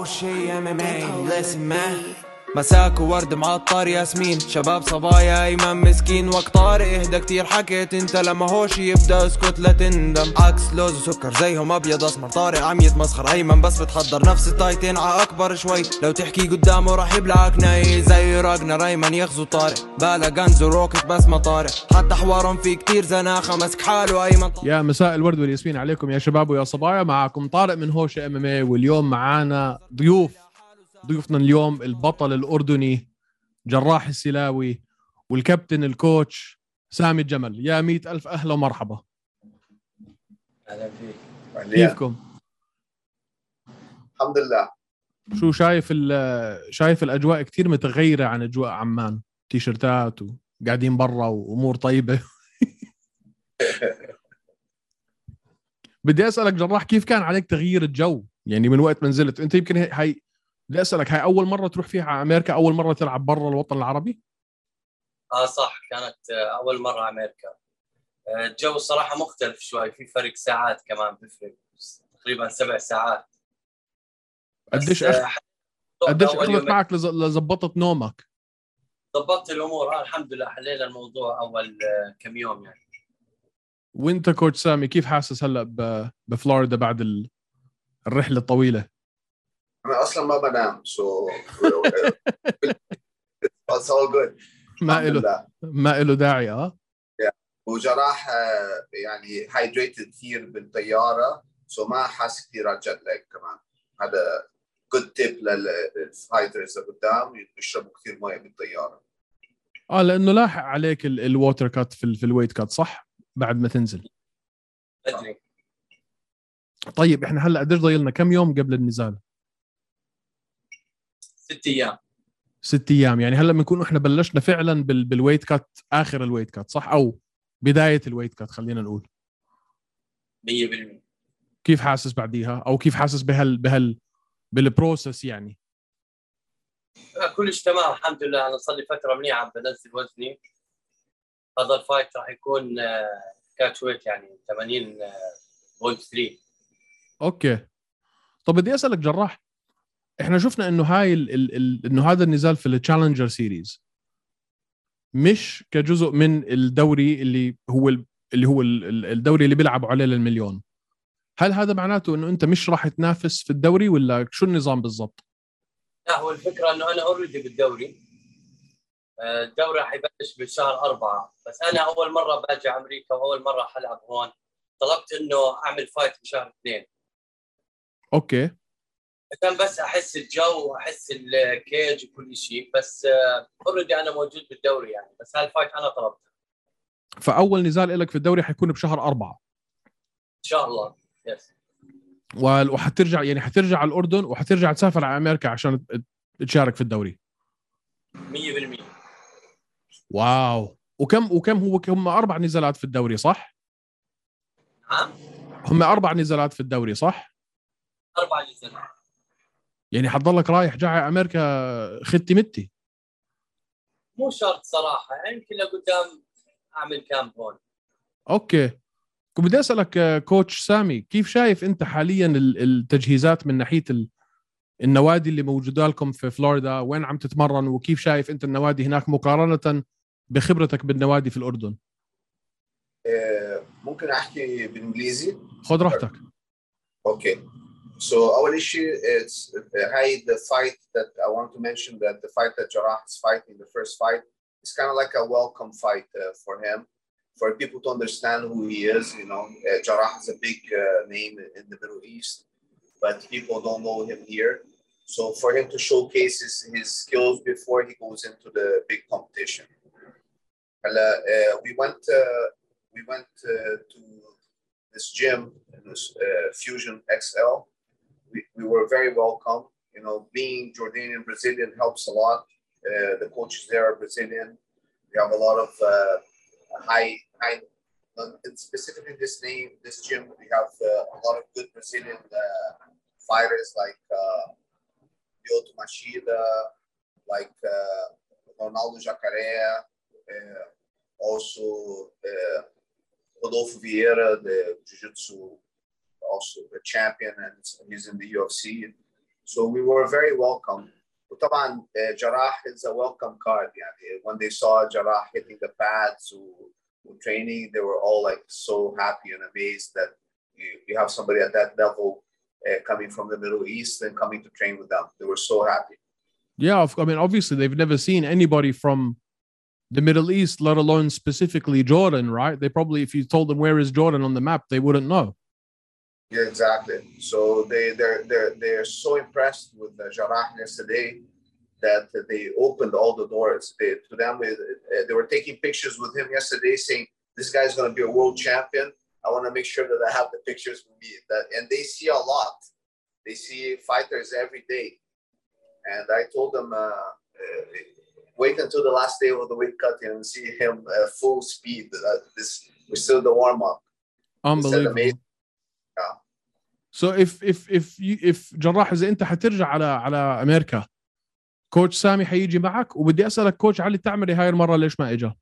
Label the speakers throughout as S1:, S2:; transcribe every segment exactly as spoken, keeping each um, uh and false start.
S1: شي ام ام اي listen man. مساك وورد معطر ياسمين، شباب صبايا ايمن مسكين. وقت طارق اهدى كتير حكيت انت، لما هوش يبدا اسكت لا تندم. عكس لوز وسكر زيهم ابيض اسمر، طارق عم يتمسخر ايمن بس بتحضر نفس التايتين ع اكبر شوي. لو تحكي قدامه راح يبلعك ناي زي راجنر ايمن يغزو طارق. بالا غنز وروكت بس ما طارق، حتى حوارهم في كتير زناخه مسك حاله ايمن.
S2: يا مساء الورد والياسمين عليكم يا شباب ويا صبايا، معكم طارق من هوش ام ام اي. واليوم معانا ضيوف ضيوفنا اليوم البطل الاردني جراح السلاوي والكابتن الكوتش سامي الجمل. يا مئة ألف أهلا ومرحبا.
S3: أهلا فيك.
S2: كيفكم؟
S3: الحمد لله.
S2: شو شايف شايف الأجواء كتير متغيرة عن أجواء عمان، تيشرتات وقاعدين برا وأمور طيبة. بدي أسألك جراح، كيف كان عليك تغيير الجو يعني من وقت ما نزلت؟ أنت يمكن هاي بدي أسألك، هاي أول مرة تروح فيها على أمريكا؟ أول مرة تلعب برا الوطن العربي؟
S4: اه صح، كانت اول مره امريكا. الجو الصراحه مختلف شوي، في فرق ساعات كمان بفرق تقريبا سبع ساعات.
S2: قديش أخ... قديش اخذت معك لزبطت نومك؟
S4: ضبطت الامور اه الحمد لله، حلينا الموضوع اول كم يوم يعني.
S2: وانت كوتش سامي كيف حاسس هلا ب... بفلوريدا بعد ال... الرحله الطويله؟
S3: انا اصلا ما بنام سو it's all good.
S2: ما له ما له داعي. اه
S3: وجراح يعني هايدريتد كثير بالطياره، سو ما حاس كثير على الجت لاج كمان. هذا جود تيب للفايترز اللي قدام، يشربوا كثير ميه بالطياره.
S2: اه لانه لاحق عليك الووتر كات في, في الويت كات صح بعد ما تنزل.
S4: ادري.
S2: طيب احنا هلا قديش ضايل لنا كم يوم قبل النزال؟
S4: ست ايام.
S2: ست ايام يعني هلا بنكون احنا بلشنا فعلا بال بالويت كات، اخر الويت كات صح، او بدايه الويت كات خلينا نقول.
S4: مية بالمية.
S2: كيف حاسس بعديها، او كيف حاسس بهال بهال بالبروسس يعني؟
S4: كلش تمام الحمد لله. انا صار لي فتره منيحه عم بنزل وزني. هذا الفايت راح يكون كاتش ويت يعني ثمانين فاصلة ثلاثة.
S2: اوكي. طب بدي اسالك جراح، احنا شفنا انه هاي ال ال ال انه هذا النزال في التشالنجر سيريز مش كجزء من الدوري اللي هو اللي هو الدوري اللي بيلعبوا عليه للمليون. هل هذا معناته انه انت مش راح تنافس في الدوري ولا شو النظام بالضبط؟
S4: لا، هو الفكره انه انا اوريدي بالدوري. الدوري راح يبلش بشهر أربعة، بس أنا أول مرة باجي أمريكا وأول مرة حلعب هون. طلبت إنه أعمل فايت بشهر اثنين.
S2: أوكي.
S4: عشان بس أحس الجو وأحس الكيج وكل شيء، بس أوريدي أنا موجود بالدوري يعني، بس هالفايت أنا طلبته.
S2: فأول نزال لك في الدوري حيكون بشهر أربعة
S4: إن شاء الله. يس.
S2: وحترجع يعني حترجع على الأردن وحترجع تسافر على أمريكا عشان تشارك في الدوري.
S4: مية بالمية.
S2: واو. وكم وكم هو هم أربع نزالات في الدوري صح؟
S4: نعم.
S2: هم أربع نزالات في الدوري صح؟
S4: أربع نزالات.
S2: يعني حتضلك رايح جاي على أمريكا ختي متي؟
S4: مو شرط صراحة، يعني يمكن لقدام أعمل كامب هون.
S2: أوكي. كنت بدي أسألك كوتش سامي، كيف شايف أنت حاليا التجهيزات من ناحية النوادي اللي موجودة لكم في فلوريدا؟ وين عم تتمرن وكيف شايف أنت النوادي هناك مقارنة بخبرتك بالنوادي في الأردن؟
S3: ممكن أحكي بالإنجليزي؟
S2: خذ راحتك.
S3: Okay. So our issue is uh, hey, the fight that I want to mention, that the fight that Jarrah is fighting, the first fight, is kind of like a welcome fight uh, for him, for people to understand who he is. You know, uh, Jarrah is a big uh, name in the Middle East, but people don't know him here. So for him to showcase his, his skills before he goes into the big competition. Uh, we went, uh, we went uh, to this gym, this uh, Fusion X L. We, we were very welcome. You know, being Jordanian Brazilian helps a lot. Uh, the coaches there are Brazilian. We have a lot of uh, high, high, uh, specifically this name, this gym. We have uh, a lot of good Brazilian uh, fighters like uh, Lyoto Machida, like uh, Ronaldo Jacaré, uh, also uh, Rodolfo Vieira, the Jiu-Jitsu, also a champion, and he's in the U F C. So we were very welcome. وطبعا uh, Jarrah is a welcome card. يعني when they saw Jarrah hitting the pads or training, they were all like so happy and amazed that you, you have somebody at that level uh, coming from the Middle East and coming to train with them. They were so happy.
S2: Yeah, I mean, obviously they've never seen anybody from the Middle East, let alone specifically Jordan, right? They probably, if you told them where is Jordan on the map, they wouldn't know.
S3: Yeah, exactly. So they they're they're they're so impressed with uh, Jarrah yesterday that they opened all the doors. They, to them, uh, they were taking pictures with him yesterday, saying, "This guy's going to be a world champion. I want to make sure that I have the pictures with me." That, and they see a lot. They see fighters every day. And I told them, uh, uh, wait until the last day of the weight cut and see him uh, full speed. Uh, this we're still the warm up.
S2: Unbelievable.
S3: Yeah.
S2: So if if if you, if جراح إذا أنت حترجع على على أمريكا، كوتش سامي حيجي معك، وبدي أسألك كوتش علي تعمري هاي المرة ليش ما إجا؟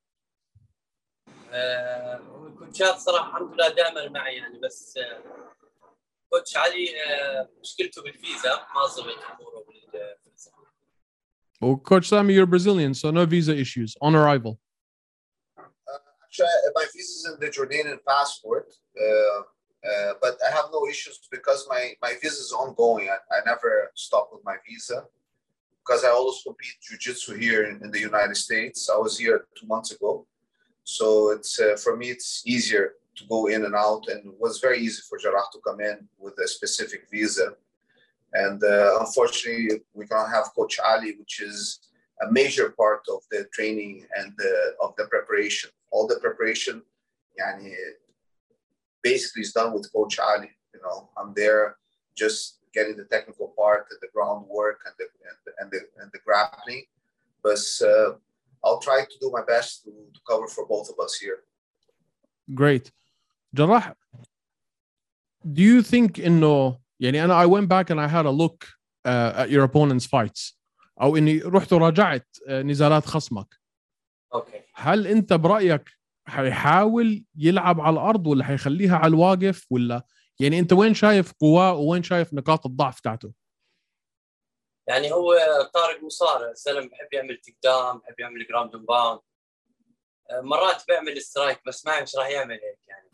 S4: آه، كوتشات صراحة الحمد لله دائما معي يعني، بس آه، كوتش علي آه، مشكلته بالفيزا، ما ضبط أموره بالفيزا.
S2: Well, Coach Sami, you're Brazilian, so no visa issues on arrival.
S3: Uh, actually, my visa is in the Jordanian passport, uh, uh, but I have no issues because my, my visa is ongoing. I, I never stop with my visa because I always compete jiu-jitsu here in, in the United States. I was here two months ago. So it's uh, for me, it's easier to go in and out, and it was very easy for Jarrah to come in with a specific visa. And uh, unfortunately, we can't have Coach Ali, which is a major part of the training and the, of the preparation. All the preparation, yani, basically is done with Coach Ali. You know, I'm there just getting the technical part and the groundwork and the and the and the, and the grappling. But uh, I'll try to do my best to, to cover for both of us here.
S2: Great. Jarrah, do you think إنه يعني أنا I went back and I had a look uh, at your opponent's fights أو إني رحت وراجعت uh, نزالات خصمك.
S4: أوكي.
S2: هل أنت برأيك حيحاول يلعب على الأرض ولا حيخليها على الواقف ولا يعني أنت وين شايف قواه وين شايف نقاط الضعف تاعته؟
S4: يعني هو طارق مصارع، سلم بحب يعمل تيك داون، بحب يعمل جراوند اند باوند، مرات بيعمل سترايك بس ما مش راح يعمل هيك يعني.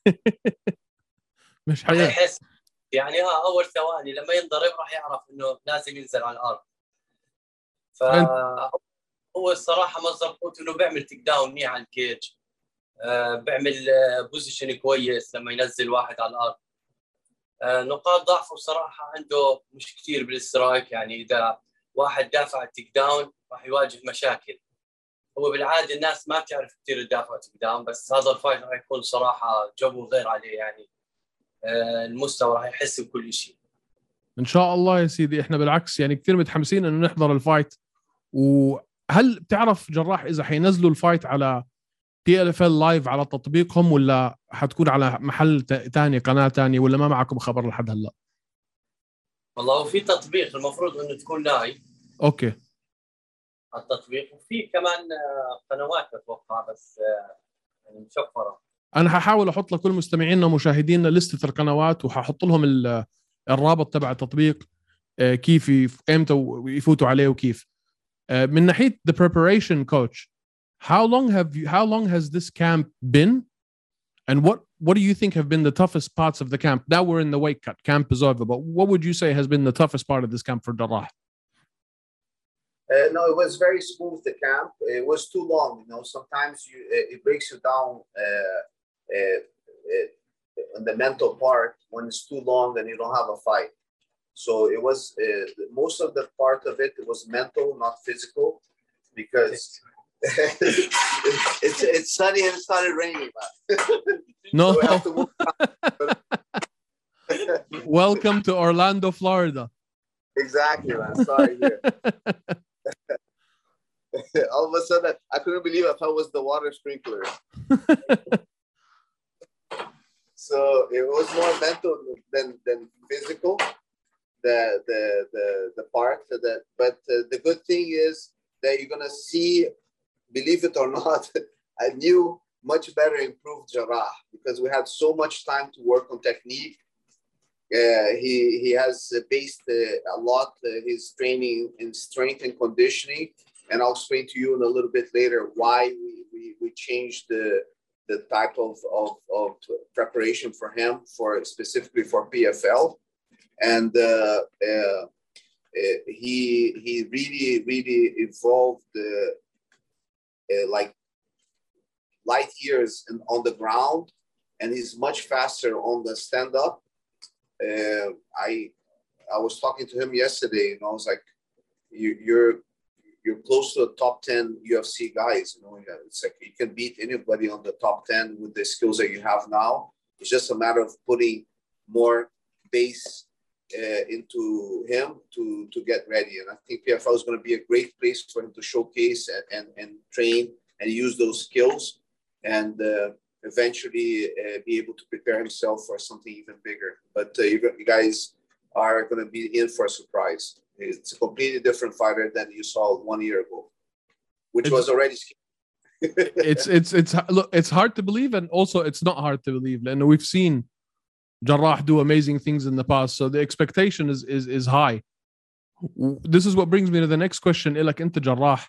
S2: مش حيحس
S4: يعني اه اول ثواني لما ينضرب راح يعرف انه لازم ينزل على الارض. ف هو الصراحه مصدر قوته انه بيعمل تيك داون منيح على الكيج، آه بيعمل آه بوزيشن كويس لما ينزل واحد على الارض. آه نقاط ضعفه بصراحه عنده مش كثير بالسترايك، يعني اذا واحد دافع التيك داون راح يواجه مشاكل. هو بالعاده الناس ما بتعرف كثير تدافع تيك داون، بس هذا الفايت راح يكون صراحه جو غير عليه، يعني آه المستوى راح يحس بكل شيء.
S2: ان شاء الله يا سيدي. احنا بالعكس يعني كثير متحمسين انه نحضر الفايت. وهل بتعرف جراح اذا حينزلوا الفايت على تي ال اف ال لايف على تطبيقهم ولا حتكون على محل ثاني قناه ثانيه ولا ما معكم خبر لحد هلا؟
S4: والله هو في تطبيق المفروض انه تكون لايف.
S2: اوكي.
S4: التطبيق وفي كمان قنوات اتوقع بس يعني مشفره.
S2: انا ححاول احط لكل مستمعينا ومشاهدينا لستة القنوات وححط لهم الرابط تبع التطبيق كيف امتى يفوتوا عليه وكيف. من ناحيه the preparation coach, how long have you how long has this camp been and what what do you think have been the toughest parts of the camp? Now we're in the weight cut, camp is over, but what would you say has been the toughest part of this camp for Jarrah?
S3: Uh, no, it was very smooth, the camp. It was too long, you know. Sometimes you it breaks you down uh, uh, uh, in the mental part when it's too long and you don't have a fight. So it was uh, most of the part of it, it was mental, not physical, because it's it's sunny and it started raining, man.
S2: No.
S3: So we have to move
S2: Welcome to Orlando, Florida.
S3: Exactly, man. Sorry. All of a sudden, I couldn't believe I thought it was the water sprinkler. So it was more mental than than physical. The the the the part that, but uh, the good thing is that you're gonna see, believe it or not, a new, much better improved Jarrah because we had so much time to work on technique. uh, he he has based uh, a lot uh, his training in strength and conditioning, and I'll explain to you in a little bit later why we we, we changed the the type of, of of preparation for him for specifically for P F L, and uh, uh, uh, he he really really evolved uh, uh, like light years in, on the ground, and he's much faster on the stand up. Uh, I I was talking to him yesterday, and I was like, you, "You're you're close to the top ten U F C guys. You know, it's like you can beat anybody on the top ten with the skills that you have now. It's just a matter of putting more base uh, into him to to get ready. And I think P F L is going to be a great place for him to showcase and and, and train and use those skills, and uh, eventually uh, be able to prepare himself for something even bigger. But uh, you, you guys are going to be in for a surprise. It's a completely different fighter than you saw one year ago, which
S2: it's,
S3: was already scary.
S2: it's it's it's look, it's hard to believe, and also it's not hard to believe. And we've seen Jarrah do amazing things in the past, so the expectation is is is high. This is what brings me to the next question. لك انت جراح،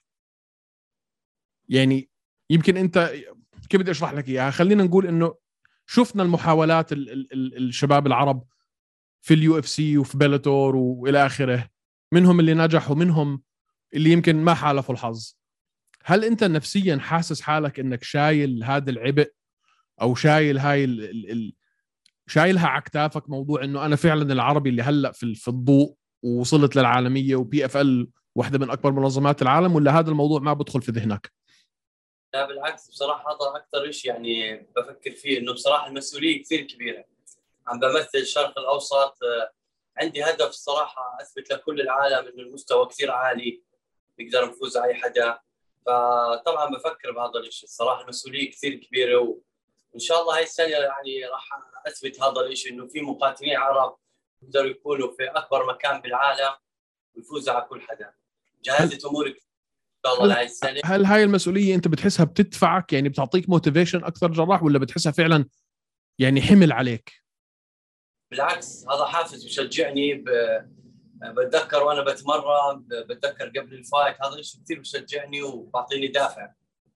S2: يعني يمكن انت كيف بدي اشرح لك اياها؟ خلينا نقول انه شفنا المحاولات ال ال ال الشباب العرب في اليو اف سي وفي بيلاتور والى اخره، منهم اللي نجح ومنهم اللي يمكن ما حالفوا الحظ. هل انت نفسيا حاسس حالك انك شايل هذا العبء، او شايل هاي ال ال ال شايلها على كتافك، موضوع انه انا فعلا العربي اللي هلا في في الضوء ووصلت للعالميه وبي اف ال واحده من اكبر منظمات العالم، ولا هذا الموضوع ما بدخل في ذهنك؟
S4: لا بالعكس، بصراحه هذا اكثر شيء يعني بفكر فيه، انه بصراحه المسؤوليه كثير كبيره. عم بمثل الشرق الاوسط، عندي هدف الصراحه اثبت لكل العالم انه المستوى كثير عالي، نقدر نفوز على اي حدا. فطبعا بفكر بهذا الشيء الصراحه، المسؤوليه كثير كبيره، وان شاء الله هاي السنه يعني راح اثبت هذا الشيء، انه في مقاتلين عرب يقدروا يكونوا في اكبر مكان بالعالم ويفوزوا على كل حدا. جهزت اموري ان شاء الله لهي السنه.
S2: هل هاي المسؤوليه انت بتحسها بتدفعك، يعني بتعطيك موتيفيشن اكثر جراح، ولا بتحسها فعلا يعني حمل عليك؟
S4: بالعكس، هذا حافز بشجعني. ب... بتذكر وانا بتمرن، بتذكر قبل الفايت، هذا الشيء كثير بشجعني وبعطيني دافع.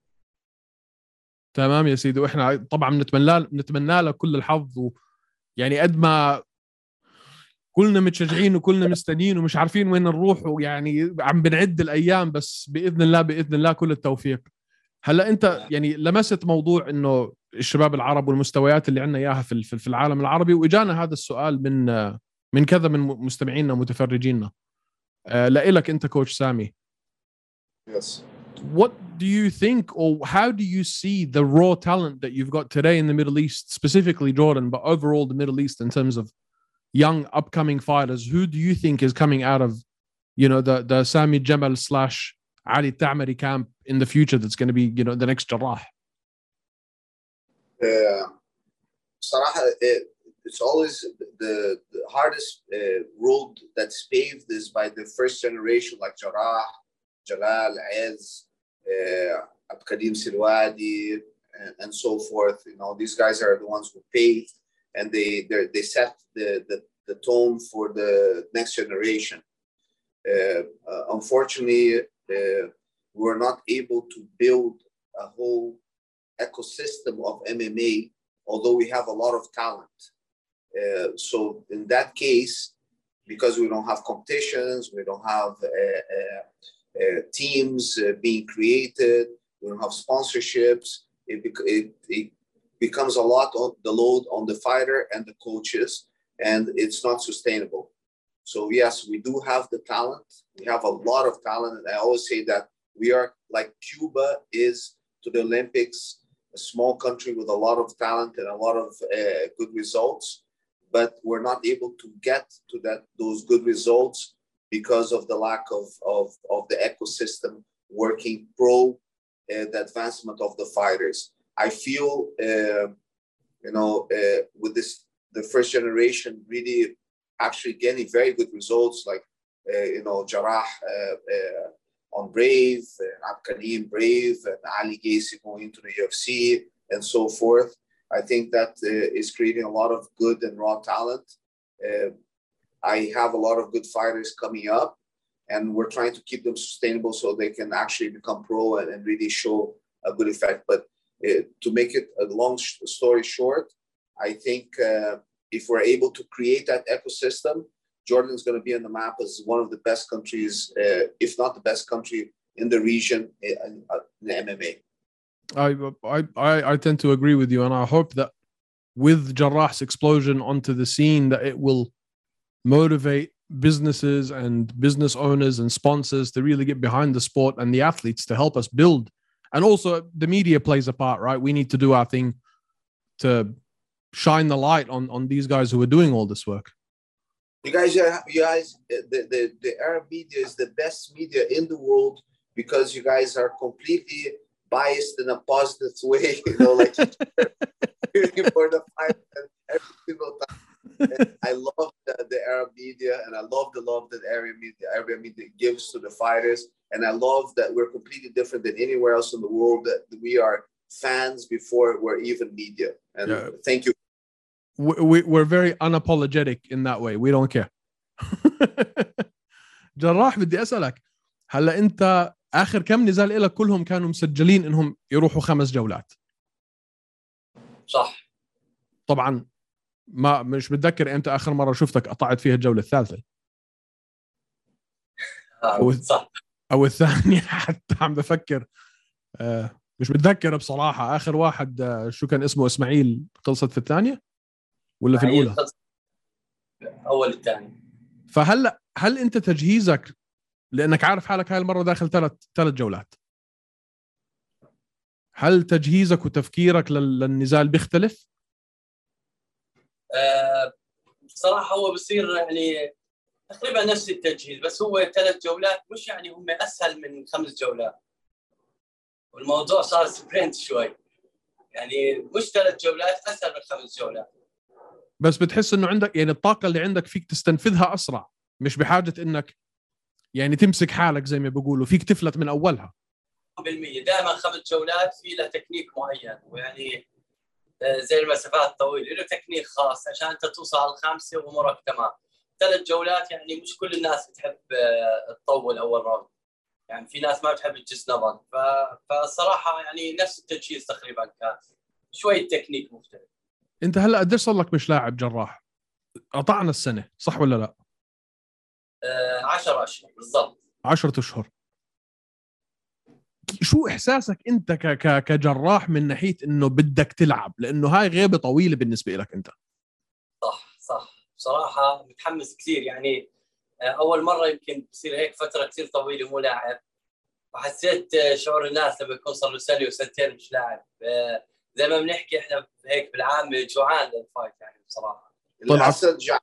S2: تمام يا سيدي، واحنا طبعا نتمنى نتمنى لك كل الحظ، ويعني قد ما كلنا متشجعين وكلنا مستنيين ومش عارفين وين نروح، ويعني عم بنعد الايام، بس باذن الله باذن الله كل التوفيق. هلا انت يعني لمست موضوع انه الشباب العرب والمستويات اللي عندنا اياها في في العالم العربي، واجانا هذا السؤال من من كذا من مستمعينا ومتفرجينا. لإلك انت كوتش سامي.
S3: Yes.
S2: What do you think, or how do you see the raw talent that you've got today in the Middle East, specifically Jordan, but overall the Middle East in terms of young upcoming fighters? Who do you think is coming out of, you know, the the Sami Jamal slash Ali Ta'mari camp in the future that's going to be, you know, the next Jarrah?
S3: Uh, صراحة, it, it's always the, the hardest uh, road that's paved is by the first generation, like Jarrah, Jalal, Az, uh, Abkadim Silwadi, and, and so forth. You know, these guys are the ones who paved, and they they set the, the the tone for the next generation. Uh, uh, unfortunately, uh, we were not able to build a whole ecosystem of M M A, although we have a lot of talent. Uh, so in that case, because we don't have competitions, we don't have uh, uh, uh, teams uh, being created, we don't have sponsorships, it, it, it becomes a lot of the load on the fighter and the coaches, and it's not sustainable. So yes, we do have the talent. We have a lot of talent. And I always say that we are like Cuba is to the Olympics, a small country with a lot of talent and a lot of uh, good results, but we're not able to get to that those good results because of the lack of, of, of the ecosystem working pro uh, the advancement of the fighters. I feel, uh, you know, uh, with this, the first generation really actually getting very good results, like, uh, you know, Jarrah uh, uh, on Brave, uh, Abkadim Brave, and Ali Gacy going into the U F C, and so forth. I think that uh, is creating a lot of good and raw talent. Uh, I have a lot of good fighters coming up, and we're trying to keep them sustainable so they can actually become pro and, and really show a good effect. But uh, to make it a long story short, I think uh, if we're able to create that ecosystem, Jordan's going to be on the map as one of the best countries, uh, if not the best country in the region in, in M M A.
S2: I, I I tend to agree with you, and I hope that with Jarrah's explosion onto the scene, that it will motivate businesses and business owners and sponsors to really get behind the sport and the athletes to help us build. And also the media plays a part, right? We need to do our thing to shine the light on, on these guys who are doing all this work.
S3: You guys, are, you guys, the, the, the Arab media is the best media in the world because you guys are completely biased in a positive way, you know, like for the fight every single time. I love the, the Arab media, and I love the love that Arab media, Arab media gives to the fighters. And I love that we're completely different than anywhere else in the world, that we are fans before we're even media. And yeah. Thank you.
S2: We, we, we're very unapologetic in that way. We don't care. جراح بدي أسألك هلا أنت آخر كم نزال إلك كلهم كانوا مسجلين إنهم يروحوا خمس جولات.
S4: صح.
S2: طبعا ما مش متذكر إمتى آخر مرة شفتك قطعت فيها الجولة الثالثة.
S4: أو صح.
S2: أو الثانية حتى عم بفكر آه مش متذكر بصراحة. آخر واحد آه شو كان اسمه إسماعيل خلصت في الثانية ولا في الأولى؟
S4: أول الثاني.
S2: فهلا هل أنت تجهيزك لأنك عارف حالك هاي المرة داخل ثلاث ثلاث جولات، هل تجهيزك وتفكيرك للنزال بيختلف؟
S4: أه بصراحة هو بصير يعني تقريبا نفس التجهيز، بس هو ثلاث جولات مش يعني هم أسهل من خمس جولات، والموضوع صار سبرنت شوي، يعني مش ثلاث جولات أسهل من خمس جولات.
S2: بس بتحس إنه عندك يعني الطاقة اللي عندك فيك تستنفذها أسرع، مش بحاجة إنك يعني تمسك حالك زي ما بيقولوا، فيك تفلت من أولها.
S4: بالمية دائما خمس جولات في له تكنيك معين، ويعني زي المسافات الطويلة له تكنيك خاص عشان أنت توصل على الخامسة وأمورك تمام. ثلاث جولات يعني مش كل الناس تحب تطول أول راوند، يعني في ناس ما بتحب تجس نظر، فالصراحة يعني نفس التجهيز تقريبا كان شوية تكنيك مختلف.
S2: أنت هلأ قديش صار لك مش لاعب جراح؟ قطعنا السنة صح ولا لا؟
S4: آه عشرة أشهر بالضبط.
S2: عشرة أشهر. شو إحساسك أنت ك ك كجراح من ناحية إنه بدك تلعب، لأنه هاي غيبة طويلة بالنسبة لك أنت؟
S4: صح صح بصراحة متحمس كثير، يعني أول مرة يمكن بصير هيك فترة كثير طويلة مو لاعب، وحسيت شعور الناس لما يكون صار له سنة وسنتين مش لاعب، زي ما بنحكي إحنا هيك بالعام جوعان للفايت يعني بصراحة.
S3: الأسد جوعان.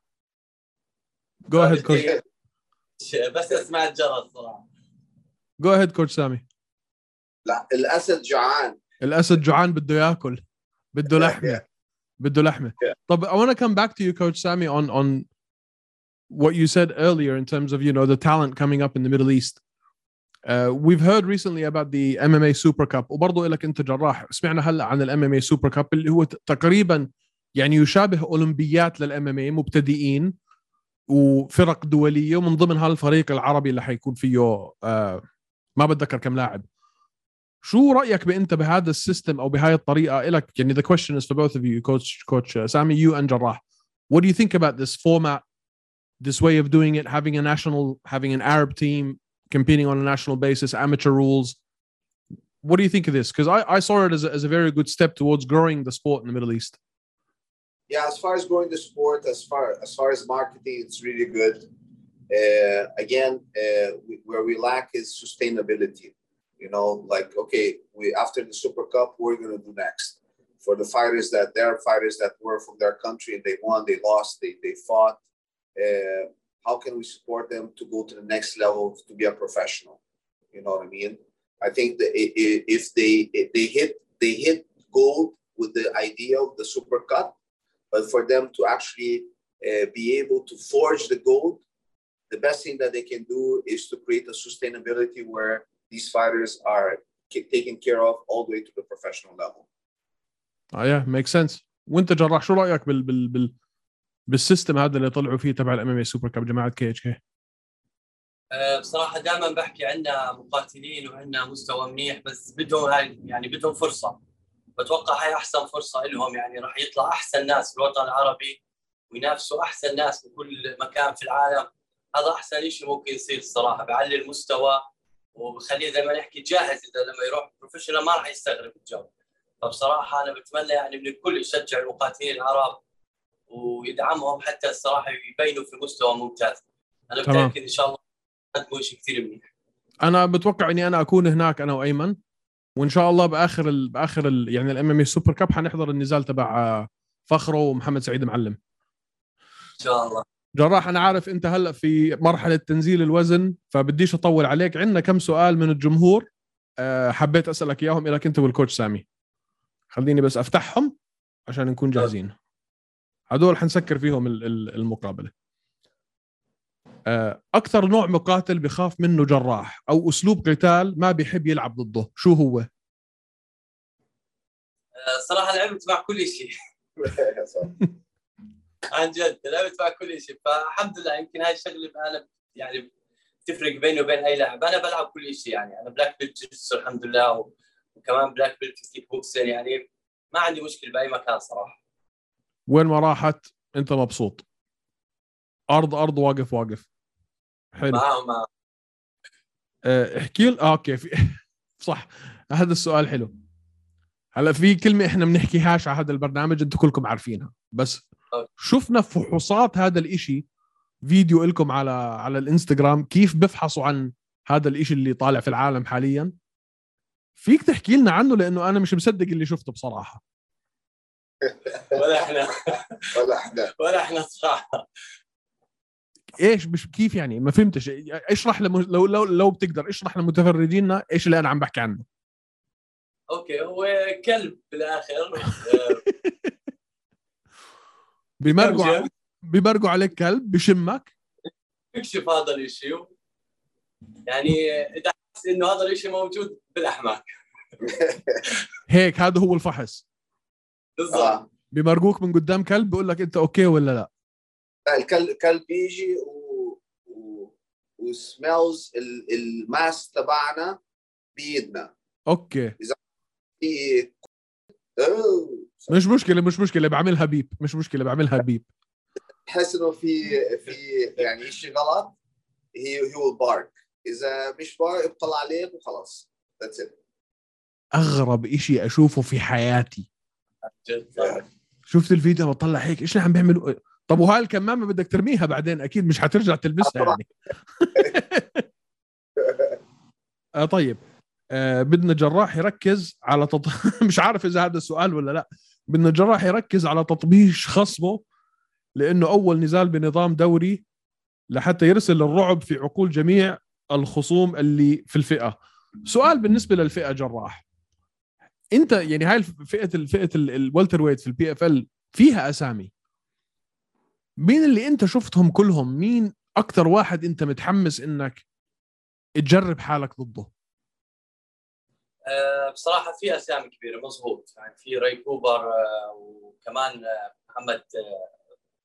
S2: Go ahead coach.
S4: بس أسمع الجرس صراحة.
S2: Go ahead coach سامي.
S3: لا الأسد جوعان.
S2: الأسد جوعان بده يأكل، بده لحمة، بده لحمة. طب I want to come back to you coach Sami on on what you said earlier in terms of you know the talent coming up in the Middle East. Uh, we've heard recently about the M M A Super Cup، وبرضه لك أنت جراح سمعنا هلا عن ال M M A Super Cup اللي هو تقريبا يعني يشابه أولمبيات لل M M A مبتدئين وفرق دولية، ومن ضمن هالفريق العربي اللي حيكون فيه uh, ما بتذكر كم لاعب. شو رأيك بأنت بهذا السيستم أو بهاي الطريقة إلك؟ يعني the question is for both of you, coach coach uh, Sami, you and Jarrah. What do you think about this format, this way of doing it, having a national, having an Arab team competing on a national basis, amateur rules? What do you think of this? Because I, I saw it as a, as a very good step towards growing the sport in the Middle East.
S3: Yeah, as far as growing the sport, as far as far as marketing, it's really good. Uh, again, uh, we, where we lack is sustainability. You know, like, okay, we after the Super Cup, what are we going to do next? For the fighters that, there are fighters that were from their country and they won, they lost, they, they fought. Uh, how can we support them to go to the next level to be a professional? You know what I mean? I think that if they if they hit they hit gold with the idea of the Super Cup, but for them to actually uh, be able to forge the gold, the best thing that they can do is to create a sustainability where these fighters are taken care of all the way to the professional level.
S2: Oh yeah, makes sense. وانت جراح شو رأيك بال بال بال بالسيستم هذا اللي طلعوا فيه تبع الام ام اي سوبر كاب جماعه كي اتش كي؟
S4: أه بصراحه دائما بحكي عندنا مقاتلين وعندنا مستوى منيح، بس بدهم هاي يعني بدهم فرصه. بتوقع هاي احسن فرصه لهم، يعني راح يطلع احسن ناس في الوطن العربي وينافسوا احسن ناس بكل مكان في العالم. هذا احسن شيء ممكن يصير الصراحه، بعلي المستوى وبخليه زي ما نحكي جاهز. اذا لما يروح بروفيشنال ما راح يستغرب الجو. فبصراحه انا بتمنى يعني من الكل يشجع المقاتلين العرب ويدعمهم حتى الصراحه يبينوا في مستوى ممتاز. انا متاكد ان شاء الله قدموا شيء كثير منيح.
S2: انا بتوقع اني انا اكون هناك انا وايمن، وان شاء الله باخر ال باخر ال يعني الام ام اي سوبر كاب حنحضر النزال تبع فخره ومحمد سعيد معلم
S4: ان شاء الله.
S2: جراح انا عارف انت هلا في مرحله تنزيل الوزن، فبديش اطول عليك. عندنا كم سؤال من الجمهور أه حبيت اسالك اياهم لك انت والكوتش سامي. خليني بس افتحهم عشان نكون جاهزين. هدول حنسكر فيهم المقابله. أه اكثر نوع مقاتل بخاف منه جراح او اسلوب قتال ما بيحب يلعب ضده شو هو؟
S4: أه صراحه لعبت مع كل شيء. عن جد لعبت مع كل شيء، فالحمد لله يمكن هاي الشغله انا يعني تفرق بيني وبين اي لاعب. انا بلعب كل شيء، يعني انا بلاك بيلت جيتسو الحمد لله، وكمان بلاك بيلت كيك بوكسين، يعني ما عندي مشكله باي مكان صراحه.
S2: وين ما راحت انت مبسوط؟ ارض ارض واقف واقف. حلو.
S4: معاهم معاهم.
S2: أه احكي لي. آه اوكي في صح، هذا السؤال حلو. هلا في كلمه احنا بنحكيهاش على هذا البرنامج انتم كلكم عارفينها، بس شفنا فحوصات هذا الاشي فيديو لكم على على الانستغرام كيف بفحصوا عن هذا الاشي اللي طالع في العالم حاليا. فيك تحكي لنا عنه لانه انا مش مصدق اللي شفته بصراحه.
S4: ولا احنا
S3: ولا احنا
S4: ولا احنا صراحه.
S2: ايش مش كيف يعني؟ ما فهمتش. اشرح لم... لو لو لو بتقدر اشرح لمتفرجينا ايش اللي انا عم بحكي عنه.
S4: اوكي هو كلب بالاخر.
S2: بيمرقوا بيمرقوا عليك كلب بشمك
S4: بكشف هذا الشيء، يعني اذا حس انه هذا الشيء موجود بالاحماق.
S2: هيك هذا هو الفحص
S4: بالضبط.
S2: بيمرقوك من قدام كلب بيقول لك انت اوكي ولا لا.
S3: الكلب الكلب بيجي و... و... وسميلز الماس تبعنا بيدنا.
S2: اوكي
S3: اذا في
S2: مش مشكله مش مشكله بعملها بيب، مش مشكله بعملها بيب.
S3: تحس انه في في يعني شيء غلط، هي هو بارك. اذا مش بارك بطلع عليك وخلاص. ذاتس ات.
S2: اغرب إشي اشوفه في حياتي.
S4: جد
S2: شفت الفيديو بطلع هيك ايش اللي عم بيعملوا. طب وهاي الكمامه بدك ترميها بعدين اكيد مش حترجع تلبسها يعني. آه طيب آه بدنا جراح يركز على تط... مش عارف اذا هذا السؤال ولا لا. بدنا جراح يركز على تطبيش خصمه لانه اول نزال بنظام دوري لحتى يرسل الرعب في عقول جميع الخصوم اللي في الفئه. سؤال بالنسبه للفئه جراح، انت يعني هاي الفئه الفئه الوالتر ويت في البي اف ال فيها اسامي. مين اللي انت شفتهم كلهم؟ مين اكثر واحد انت متحمس انك تجرب حالك ضده؟
S4: أه بصراحه في اسامي كبيره مظبوط، يعني في راي كوبر أه وكمان أه محمد أه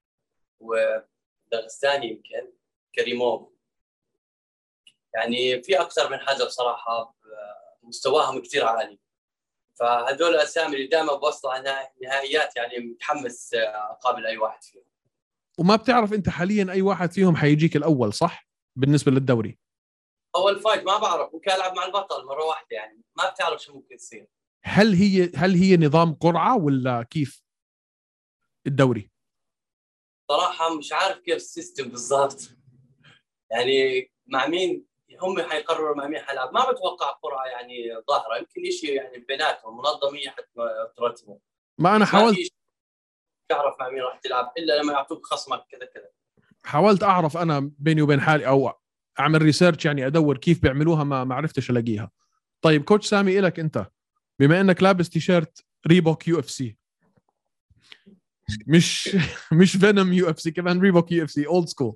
S4: ودغستاني يمكن كريموف. يعني في اكثر من حدا بصراحه مستواهم كثير عالي. فهذول الاسامي اللي دائما بوصلوا على النهائيات، يعني متحمس اقابل اي واحد فيهم.
S2: وما بتعرف انت حاليا اي واحد فيهم حيجيك الاول صح بالنسبه للدوري؟
S4: اول فايت ما بعرف، ممكن العب مع البطل مره واحده، يعني ما بتعرف شو ممكن يصير.
S2: هل هي هل هي نظام قرعه ولا كيف الدوري؟
S4: صراحه مش عارف كيف السيستم بالضبط، يعني مع مين هم حيقرروا مع مين حيلعب. ما بتوقع قرعه يعني ظاهره، يمكن شيء يعني بيناتهم منظميه حتى ترتبوا.
S2: ما انا حاولت
S4: تعرف مع مين راح تلعب الا لما يعطوك خصمك كذا كذا.
S2: حاولت اعرف انا بيني وبين حالي او اعمل ريسيرش يعني ادور كيف بيعملوها، ما ما عرفتش الاقيها. طيب كوتش سامي إلك انت، بما انك لابس تيشيرت ريبوك يو اف سي، مش مش فينوم يو اف سي، كمان ريبوك يو اف سي اولد سكول.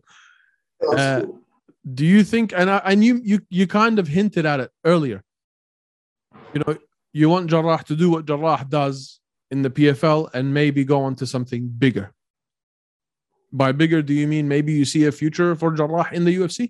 S2: Do you think, and I, I knew you you kind of hinted at it earlier, you know, you want Jarrah to do what Jarrah does in the P F L and maybe go on to something bigger. By bigger, do you mean maybe you see a future for Jarrah in the U F C?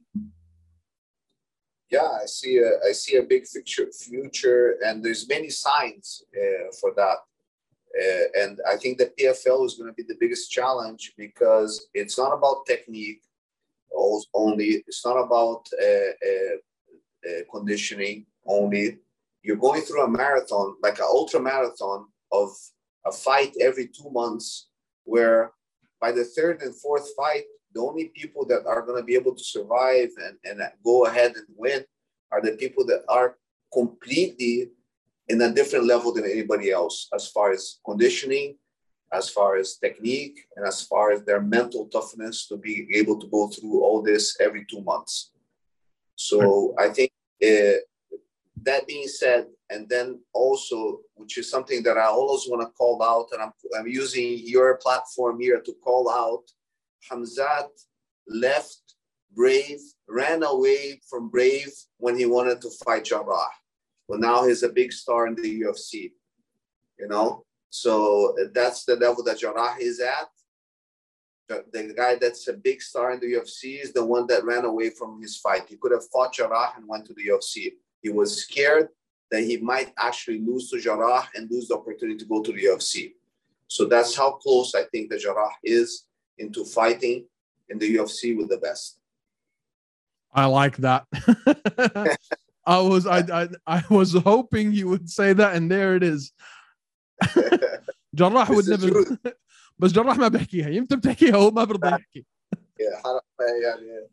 S3: Yeah, I see a I see a big future future, and there's many signs uh, for that. Uh, and I think the P F L is going to be the biggest challenge because it's not about technique only. It's not about uh, uh, uh, conditioning only. You're going through a marathon, like an ultra marathon of a fight every two months, where by the third and fourth fight, the only people that are going to be able to survive and, and go ahead and win are the people that are completely in a different level than anybody else, as far as conditioning, as far as technique, and as far as their mental toughness to be able to go through all this every two months. So I think uh, that being said, and then also, which is something that I always want to call out, and I'm, I'm using your platform here to call out, Khamzat left Brave, ran away from Brave when he wanted to fight Jarrah. Well, now he's a big star in the U F C, you know? So that's the level that Jarrah is at. The, the guy that's a big star in the U F C is the one that ran away from his fight. He could have fought Jarrah and went to the U F C. He was scared that he might actually lose to Jarrah and lose the opportunity to go to the U F C. So that's how close I think that Jarrah is into fighting in the U F C with the best.
S2: I like that. I was I, I I was hoping you would say that, and there it is. Jarrah would never. بس جراح ما بحكيها، يمتى بتحكيها هو ما برضى يحكي.
S3: يعني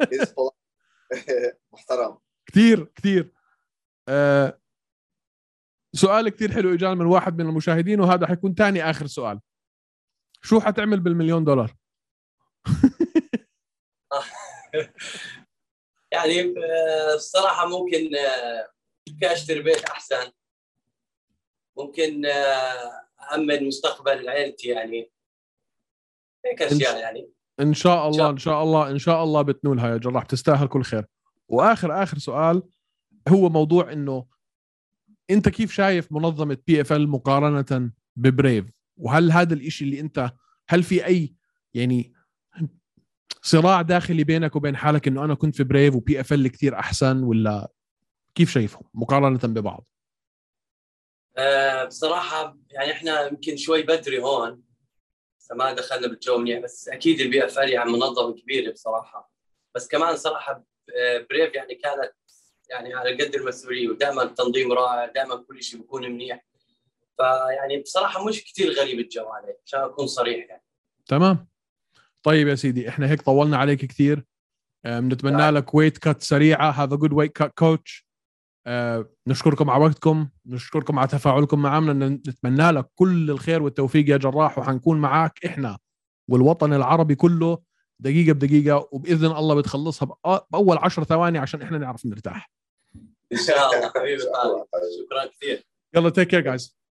S3: محترم
S2: كثير كثير. آه سؤال كثير حلو اجانا من واحد من المشاهدين، وهذا حيكون ثاني اخر سؤال. شو حتعمل بالمليون دولار؟
S4: يعني الصراحة ممكن اشتري بيت احسن، ممكن أأمن مستقبل عائلتي، يعني هيك اشياء. يعني
S2: ان شاء الله ان شاء الله ان شاء الله بتنولها يا جراح، تستاهل كل خير. واخر اخر سؤال هو موضوع انه انت كيف شايف منظمة بي اف ال مقارنة ببريف؟ وهل هذا الاشي اللي انت، هل في اي يعني صراع داخلي بينك وبين حالك انه انا كنت في بريف وبي اف ال كثير احسن، ولا كيف شايفهم مقارنة ببعض؟
S4: أه بصراحة يعني احنا يمكن شوي بدري هون، ما دخلنا بالجو منيح، بس اكيد البي اف ال يعني منظمة كبيرة بصراحة. بس كمان صراحة بريف يعني كانت يعني على قد المسؤولية، ودائما التنظيم رائع، دائما كل شيء بيكون منيح. فيعني بصراحة مش كتير غريب الجو عليه، عشان أكون صريح يعني.
S2: تمام. طيب يا سيدي، احنا هيك طولنا عليك كثير. بنتمنى لك ويت كات سريعة. have a good weight cut coach. أه نشكركم على وقتكم، نشكركم على تفاعلكم معنا، نتمنى لك كل الخير والتوفيق يا جراح، وحنكون معاك احنا والوطن العربي كله دقيقة بدقيقة، وبإذن الله بتخلصها بأول عشر ثواني عشان احنا نعرف نرتاح
S4: إن شاء الله. حبيبي طارق، شكرا كثير.
S2: يلا take care guys.